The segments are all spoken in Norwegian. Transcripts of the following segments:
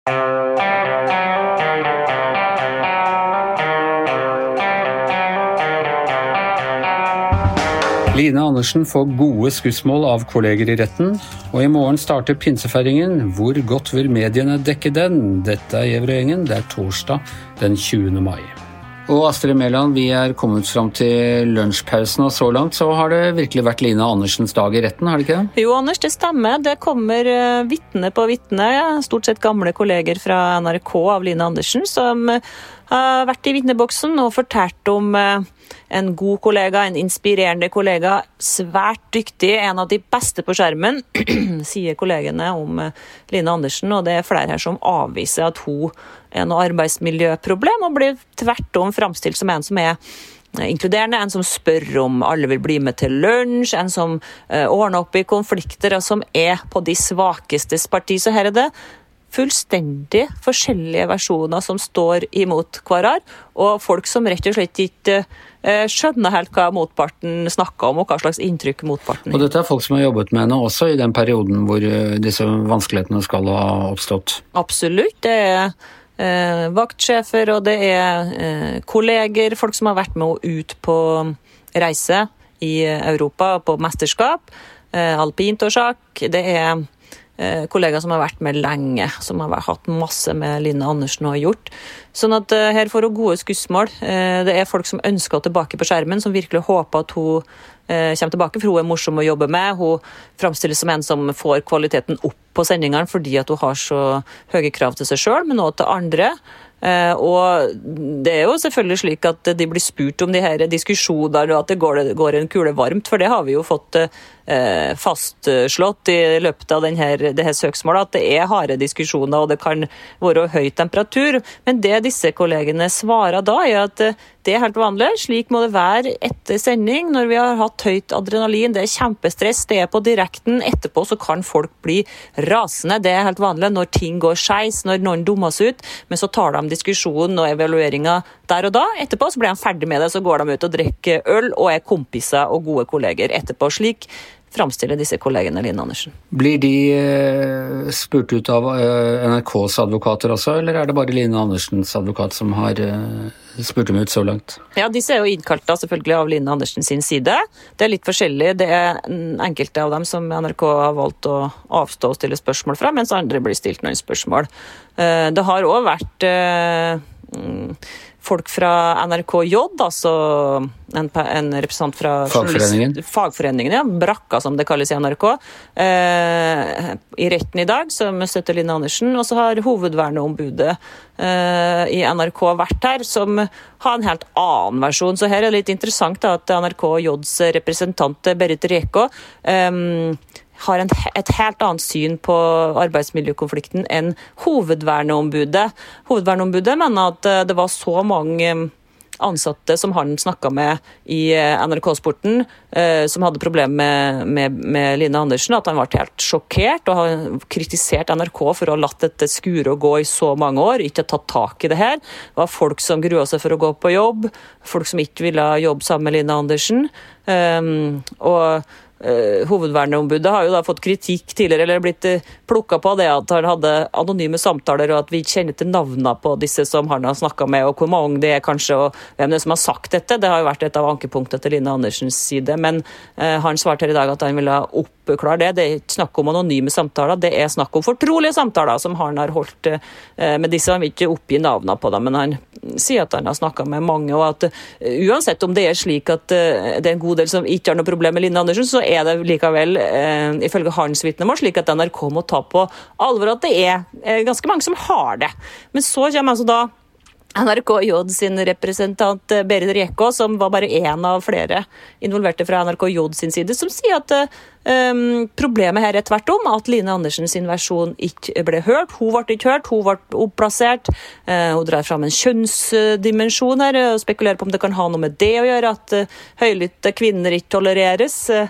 Line Andersen får gode skussmål av kolleger i retten, og i morgen starter pinsefeiringen. Hvor godt vil mediene dekke den? Dette Gjæverøy-gjengen, det torsdag den 20. mai. Og Astrid Mæland, vi kommet frem til lunsjpausen, og så langt så har det virkelig vært Line Andersens dag i retten, har det ikke det? Jo, Anders, det stemmer. Det kommer vittne på vittne, stort sett gamle kolleger fra NRK av Line Andersen, som har vært i vittneboksen og fortalt om en god kollega, en inspirerende kollega, svært dyktig, en av de beste på skjermen, sier kollegene om Line Andersen, og det flere her som avviser at hun noe arbeidsmiljøproblem, og blir tvert om fremstilt som en som inkluderende, en som spør om alle vil bli med til lunsj, en som ordner opp i konflikter, og som på de svakestes parti. Så her det fullstendig forskjellige versjoner som står imot hverandre, og folk som rett og slett ikke skjønner helt hva motparten snakker om, og hva slags inntrykk motparten har. Og dette folk som har jobbet med henne også i den perioden hvor disse vanskelighetene skal ha oppstått? Absolutt, det vaktsjefer, og det kolleger, folk som har vært med og ut på reise i Europa, på mesterskap, alpint og sjakk, det kollegaer som har vært med lenge, som har hatt masse med Line Andersen og har gjort. Sånn at her får hun gode skussmål. Det folk som ønsker henne tilbake på skjermen, som virkelig håper at hun kommer tilbake, for hun morsom å jobbe med. Hun fremstilles som en som får kvaliteten opp på sendingene, fordi at hun har så høye krav til seg selv, men også til andre. Og det jo selvfølgelig slik at de blir spurt om de her diskusjoner, og at det går en kule varmt, for det har vi jo fått fastslått i løpet av det her søksmålet, at det harde diskusjoner, og det kan være høy temperatur. Men det disse kollegene svarer da, at det helt vanlig. Slik må det være etter sending, når vi har hatt høyt adrenalin. Det kjempestress, det på direkten. Etterpå så kan folk bli rasende. Det helt vanlig når ting går skeis, når noen dummes ut. Men så tar de diskusjonen og evalueringen der og da. Etterpå så blir de ferdig med det, så går de ut og drikker øl og kompiser og gode kolleger etterpå. Slik framstiller disse kollegene Line Andersen. Blir de spurt ut av NRKs advokater også, eller det bare Line Andersens advokat som har spurt dem ut så langt? Ja, disse jo innkalt da selvfølgelig av Line Andersen sin side. Det litt forskjellig. Det enkelte av dem som NRK har valgt å avstå og stille spørsmål fra, mens andre blir stilt noen spørsmål. Det har også vært folk fra NRK-J, altså en representant fra fagforeningen, ja, Brakka som det kalles i NRK, i retten i dag, som støtter Line Andersen, og så har hovedverneombudet i NRK vært her, som har en helt annen versjon. Så her det litt interessant da, at NRK-Js representant Berit Reko har et helt annet syn på arbeidsmiljøkonflikten enn hovedverneombudet. Hovedverneombudet mener at det var så mange ansatte som han snakket med i NRK-sporten, som hadde problemer med Line Andersen, at han var helt sjokkert og har kritisert NRK for å ha latt dette skure og gå i så mange år, ikke tatt tak i det her. Det var folk som gruet seg for å gå på jobb, folk som ikke ville jobbe sammen med Line Andersen, og hovedverneombudet har jo da fått kritikk tidligere, eller blitt plukket på det at han hadde anonyme samtaler, og at vi ikke kjenner til navnene på disse som han har snakket med, og hvor mange det kanskje, og hvem det som har sagt dette. Det har jo vært et av ankepunktene til Line Andersens side, men han svarte her i dag at han ville oppklare det. Det ikke snakk om anonyme samtaler, det snakk om fortrolige samtaler som han har holdt med disse. Han vil ikke oppgi navnene på dem, men han sier at han har snakket med mange, og at uansett om det slik at det en god del som ikke har noe problem med Line Andersen, så det likevel, ifølge hans vitnemål, slik at NRK må ta på alvor at det ganske mange som har det. Men så kommer altså da NRK-J sin representant Berit Reko, som var bare en av flere involverte fra NRK-J sin side, som sier at problemet her tvert om, at Line Andersen sin versjon ikke ble hørt. Hun ble ikke hørt, hun ble oppplassert. Hun drar fram en kjønnsdimensjon her, og spekulerer på om det kan ha noe med det å gjøre, at høylytte kvinner ikke tolereres.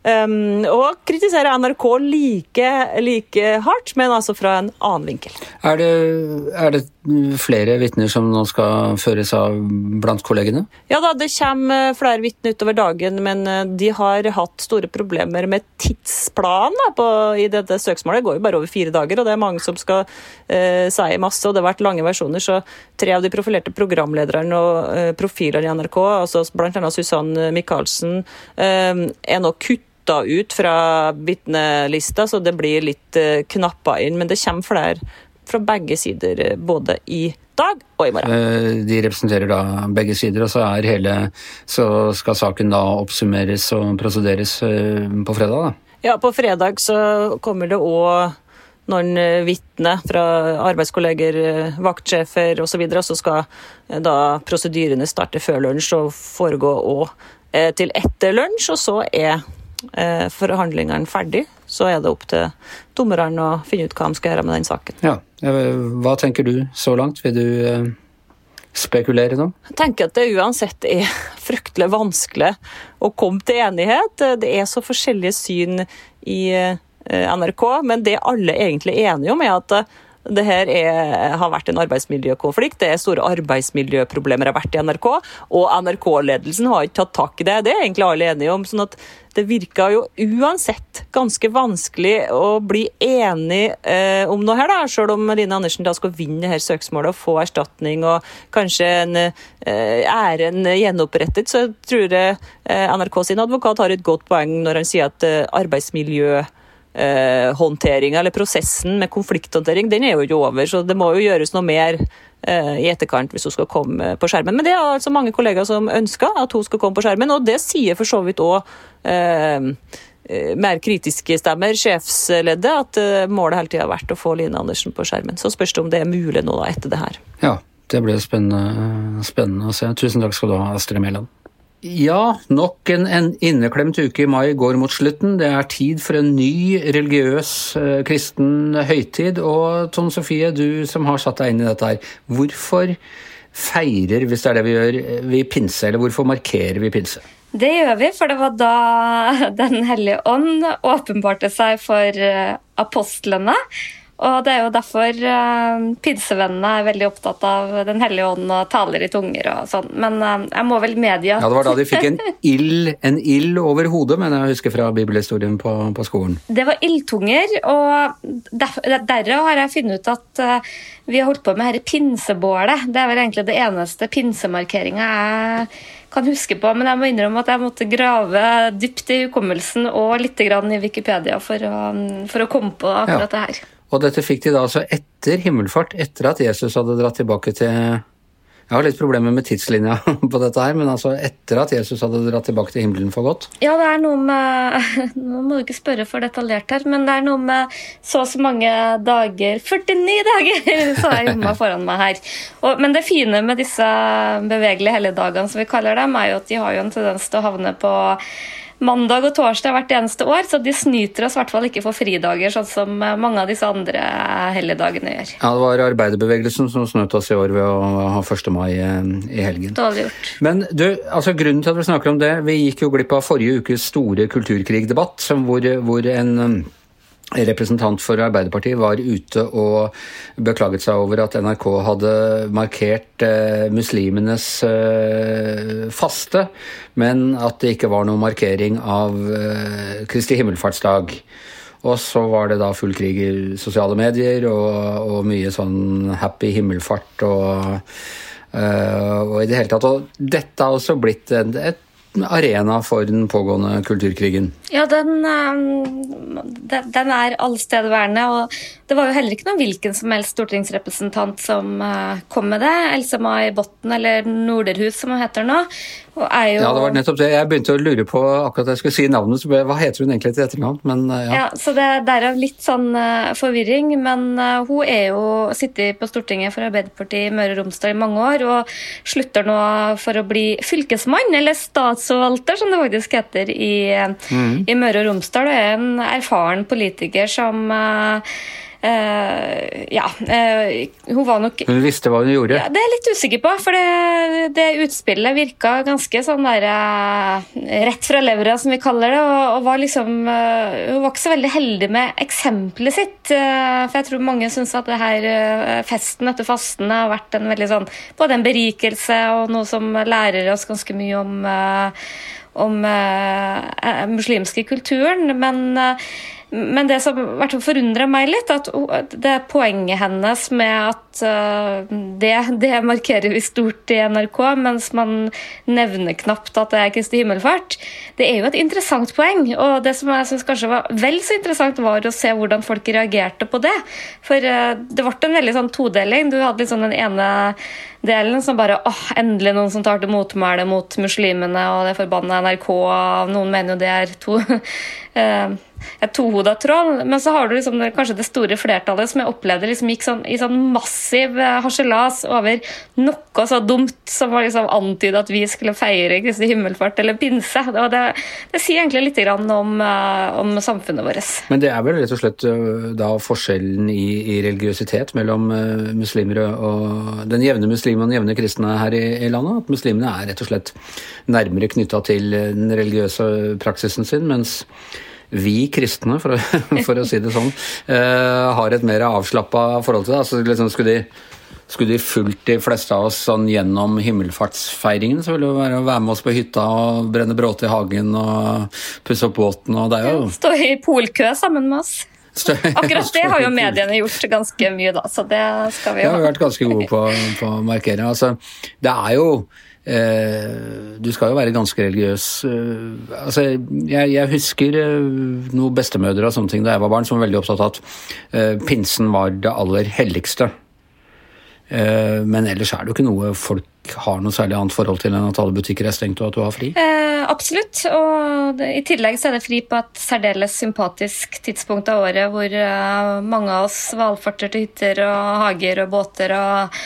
og kritiserer NRK like hardt, men altså fra en annen vinkel. Er det flere vitner som nå skal føres av blant kollegene? Ja da, det kommer flere vitner utover dagen, men de har hatt store problemer med tidsplanen i dette søksmålet. Det går jo bare over 4 dager, og det er mange som skal si masse, og det har vært lange versjoner, så 3 av de profilerte programlederne og profilerne i NRK, altså blant annet Susanne Michaelsen, er nå kuttet ut fra vitnelista, så det blir litt knappet inn, men det kommer flere fra begge sider, både i dag og i morgen. De representerer da begge sider, og så skal saken da oppsummeres og prosederes på fredag da? Ja, på fredag så kommer det også noen vitner fra arbeidskolleger, vaktsjefer og så videre, så skal da prosedyrene starte før lunsj og foregå også til etter lunsj, og så forhandlingene ferdig, så det opp til dommerne å finne ut hva de skal gjøre med den saken. Ja, hva tenker du så langt? Vil du spekulere nå? Jeg tenker at det uansett fryktelig vanskelig å komme til enighet. Det så forskjellige syn i NRK, men det alle egentlig er enige om at det her har vært en arbeidsmiljøkonflikt, det store arbeidsmiljøproblemer har vært i NRK, og NRK-ledelsen har ikke tatt tak i det. Det egentlig alle enige om, sånn at det virker jo uansett ganske vanskelig å bli enig om noe her da, selv om Line Andersen da skal vinne det her søksmålet og få erstatning og kanskje æren gjenopprettet, så tror jeg NRK sin advokat har et godt poeng når han sier at håndteringen eller prosessen med konflikthåndtering, den jo ikke over, så det må jo gjøres noe mer i etterkant hvis hun skal komme på skjermen. Men det altså mange kollegaer som ønsker at hun skal komme på skjermen, og det sier for så vidt også mer kritiske stemmer, sjefsleddet, at målet hele tiden har vært å få Line Andersen på skjermen. Så spørs det om det mulig nå da, etter det her. Ja, det blir spennende å se. Tusen takk skal du ha, Astrid Mæland. Ja, nok en inneklemt uke i mai går mot slutten. Det tid for en ny religiøs kristen høytid. Og Tone Sofie, du som har satt deg inn i dette her, hvorfor feirer, hvis det det vi gjør, vi pinse, eller hvorfor markerer vi pinse? Det gjør vi, for det var da Den hellige ånd åpenbarte seg for apostlene. Og det jo derfor pinsevennene veldig opptatt av Den hellige ånd og taler i tunger og sånn. Men jeg må vel medgi at... Ja, det var da de fikk en ild over hodet, men jeg husker fra bibelhistorien på skolen. Det var ildtunger, og derav har jeg funnet ut at vi har holdt på med her pinsebålet. Det vel egentlig det eneste pinsemarkeringen jeg kan huske på, men jeg må innrømme at jeg måtte grave dypt i hukommelsen og litt grann i Wikipedia for å komme på akkurat det her. Og dette fikk de da altså etter himmelfart, etter at Jesus hadde dratt tilbake til... Jeg har litt problemer med tidslinja på dette her, men altså etter at Jesus hadde dratt tilbake til himmelen for godt. Ja, det noe med... Nå må du ikke spørre for detaljert her, men det noe med så mange dager... 49 dager, så jeg gjorde meg foran meg her. Men det fine med disse bevegelige helligdagene, som vi kaller dem, jo at de har jo en tendens til å havne på mandag og torsdag hvert eneste år, så de snyter oss i hvert fall ikke for fridager, sånn som mange av disse andre helligdagene gjør. Ja, det var arbeiderbevegelsen som snøt oss i år ved å ha 1. mai i helgen. Dårlig gjort. Men du, altså grunnen til at vi snakker om det, vi gikk jo glipp av forrige ukes store kulturkrigdebatt, hvor en representant for Arbeiderpartiet var ute og beklaget seg over at NRK hadde markert muslimenes faste, men at det ikke var noen markering av Kristi himmelfartsdag. Og så var det da full krig i sosiale medier og mye sånn happy himmelfart og i det hele tatt. Og dette har også blitt et arena for den pågående kulturkrigen. Ja, den allstedværende, og det var jo heller ikke noen hvilken som helst stortingsrepresentant som kom med det. Else-May Botten, eller Norderhus som hun heter nå. Ja, det var nettopp det. Jeg begynte å lure på akkurat jeg skulle si navnet, så hva heter hun egentlig til etternavn? Men ja. Så det er litt sånn forvirring, men hun jo sittet på Stortinget for Arbeiderpartiet i Møre og Romsdal i mange år, og slutter nå for å bli fylkesmann, eller statsforvalter, som det faktisk heter i Møre og Romsdal. Det en erfaren politiker som hun var nok... Hun visste hva hun gjorde? Ja, det er jeg litt usikker på, for det utspillet virket ganske sånn der rett fra levra, som vi kaller det, og var liksom, hun var ikke så veldig heldig med eksempelet sitt, for jeg tror mange synes at det her festen etter fasten har vært en veldig sånn, både en berikelse og noe som lærer oss ganske mye om muslimske kulturen, men det som forundrer meg litt, at det poenget hennes med at det markerer vi stort i NRK, mens man nevner knapt at det Kristi himmelfart, det jo et interessant poeng, og det som jeg synes kanskje var vel så interessant var å se hvordan folk reagerte på det, for det ble en veldig sånn todeling. Du hadde litt sånn den ene delen som bare, endelig noen som tar til motmæle mot muslimene, og det forbannet NRK, noen mener jo det et tohodet troll, men så har du liksom kanskje det store flertallet som jeg opplevde liksom gikk i sånn massiv harselas over noe så dumt som var liksom antydet at vi skulle feire Kristi himmelfart eller pinse, og det sier egentlig litt grann om samfunnet vårt. Men det vel rett og slett da forskjellen i religiøsitet mellom muslimer og den jevne muslim og den jevne kristne her i landet, at muslimene rett og slett nærmere knyttet til den religiøse praksisen sin, mens vi kristne, for å si det sånn, har et mer avslappet forhold til det. Altså, liksom, skulle de fulgt de fleste av oss sånn gjennom himmelfartsfeiringen, så ville det være med oss på hytta og brenne bråte i hagen og pusse opp båten, og det jo... Stå i polkø sammen med oss. Akkurat det har jo mediene gjort ganske mye da, så det skal vi jo... Ja, vi har vært ganske gode på å markere. Altså, det jo... du skal jo være ganske religiøs. Altså, jeg husker noen bestemødre og sånne ting da jeg var barn som var veldig opptatt av at pinsen var det aller helligste. Men ellers det jo ikke noe folk har noe særlig annet forhold til enn at alle butikker stengt og at du har fri? Absolutt, og i tillegg så det fri på et særdeles sympatisk tidspunkt av året hvor mange av oss valfarter til hytter og hager og båter og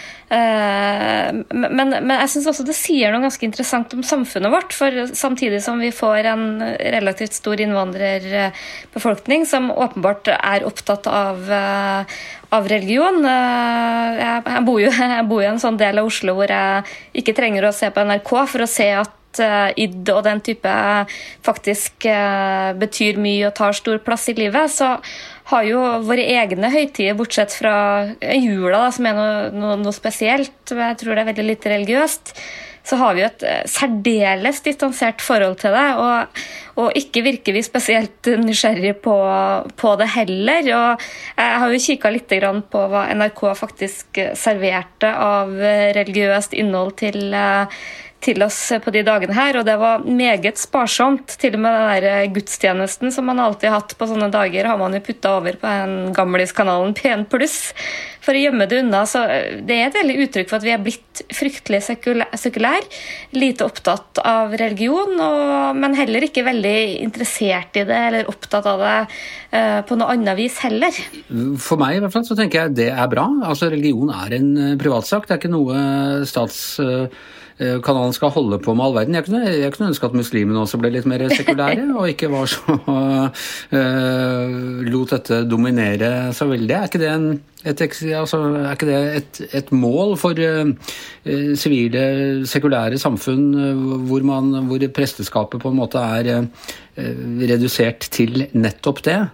men jeg synes også det sier noe ganske interessant om samfunnet vårt, for samtidig som vi får en relativt stor innvandrerbefolkning som åpenbart opptatt av religion. Jeg bor jo i en sånn del av Oslo hvor jeg ikke trenger å se på NRK for å se at id og den type faktisk betyr mye og tar stor plass i livet, så har jo våre egne høytider, bortsett fra jula da, som noe spesielt, jeg tror det veldig litt religiøst, så har vi jo et særdeles distansert forhold til det, og ikke virker vi spesielt nysgjerrige på det heller. Og jeg har jo kikket litt grann på hva NRK faktisk serverte av religiøst innhold til oss på de dagene her, og det var meget sparsomt. Til og med den der gudstjenesten som man alltid har hatt på sånne dager, har man jo puttet over på den gamliskanalen P1 Pluss for å gjemme det unna. Så det et veldig uttrykk for at vi blitt fryktelig sekulær, lite opptatt av religion, men heller ikke veldig interessert i det, eller opptatt av det på noe annet vis heller. For meg i hvert fall så tenker jeg det bra. Altså religion en privatsak, det ikke noe kanalen skal holde på med all verden. Jeg kunne ønske at muslimene også ble litt mer sekulære, og ikke var så lot dette dominere så veldig. Ikke det et mål for sivile, sekulære samfunn hvor presteskapet på en måte redusert til nettopp det?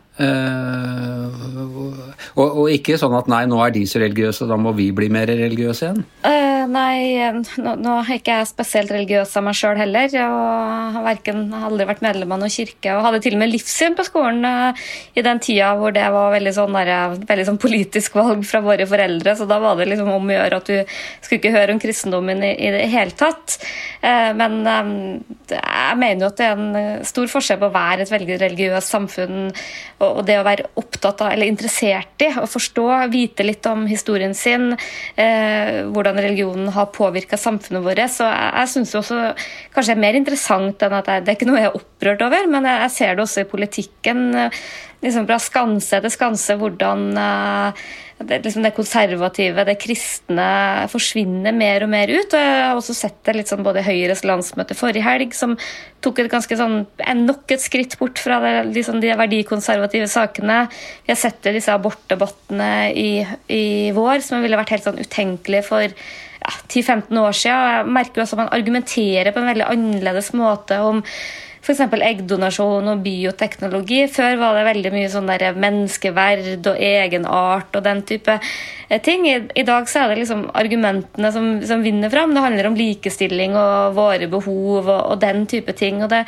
Og ikke sånn at nei, nå de så religiøse, da må vi bli mer religiøse igjen? Nei, nå ikke jeg spesielt religiøs av meg selv heller, og har aldri vært medlem av noen kirke, og hadde til og med livssyn på skolen i den tida hvor det var veldig sånn politisk valg fra våre foreldre, så da var det liksom om å gjøre at du skulle ikke høre om kristendommen i det hele tatt. Men jeg mener jo at det en stor forskjell på å være et veldig religiøst samfunn, og det å være opptatt av, eller interessert i, å forstå, vite litt om historien sin, hvordan religionen har påvirket samfunnet vårt, så jeg synes også kanskje mer interessant enn at det ikke noe jeg opprørt over, men jeg ser det også i politikken. liksom fra skanse til skanse hvordan det konservative, det kristne forsvinner mer og mer ut. Og jeg har også sett det litt sånn både Høyres landsmøte forrige helg, som tok et ganske sånn, nok et skritt bort fra liksom de verdikonservative sakene. Vi har sett det disse abortdebattene i vår, som ville vært helt sånn utenkelig for 10-15 år siden. Jeg merker også at man argumenterer på en veldig annerledes måte om for eksempel eggdonasjon og bioteknologi. Før var det veldig mye sånn der menneskeverd og egenart og den type ting. I dag så det liksom argumentene som vinner fram. Det handler om likestilling og våre behov og den type ting. Og det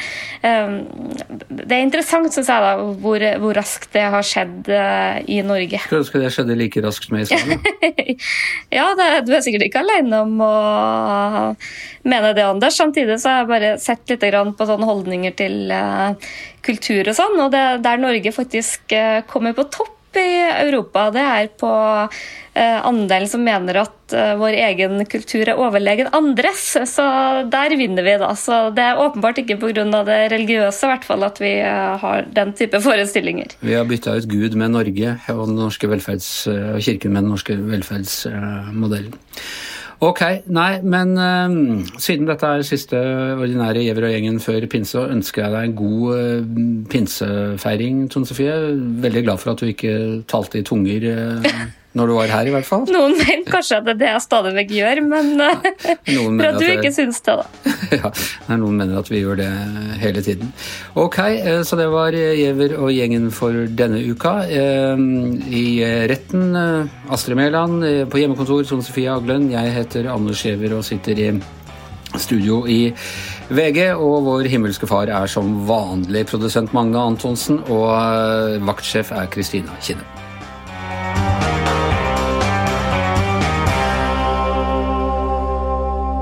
interessant, synes jeg da, hvor raskt det har skjedd i Norge. Skulle ønske det skjedde like raskt med Israel? Ja, du sikkert ikke alene om å mene det, Anders. Samtidig så har jeg bare sett litt grann på sånne holdninger til kultur og sånn, og der Norge faktisk kommer på topp i Europa, det på andelen som mener at vår egen kultur overlegen andres, så der vinner vi da. Så det åpenbart ikke på grunn av det religiøse, i hvert fall, at vi har den type forestillinger. Vi har byttet ut Gud med Norge og den norske og kirken med den norske velferdsmodellen. Ok, nei, men siden dette siste ordinære Gjever og gjengen før pinse, så ønsker jeg deg en god pinsefeiring, Tone Sofie. Veldig glad for at du ikke talte i tunger når du var her, i hvert fall. Noen mener kanskje at det jeg stadig vekk gjør, men for at du ikke synes det, da. Ja, noen mener at vi gjør det hele tiden. Ok, så det var Gjever og gjengen for denne uka. I retten, Astrid Mæland, på hjemmekontor, Tone Sofie Aglen. Jeg heter Anders Gjever og sitter i studio i VG, og vår himmelske far som vanlig produsent Magne Antonsen, og vaktsjef Kristina Kinne.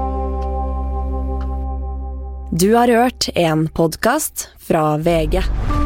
Du har hørt en podcast fra VG.